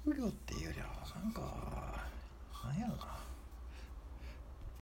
職業っていうよりはなんかなんやろな、